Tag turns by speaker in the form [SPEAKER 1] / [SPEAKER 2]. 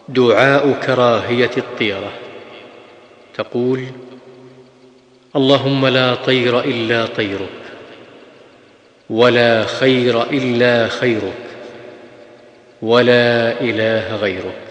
[SPEAKER 1] دعاء كراهية الطيرة. تقول: اللهم لا طير إلا طيرك، ولا خير إلا خيرك، ولا إله غيرك.